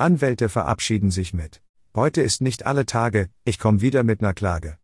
Anwälte verabschieden sich mit: Heute ist nicht alle Tage, ich komm wieder mit ner Klage.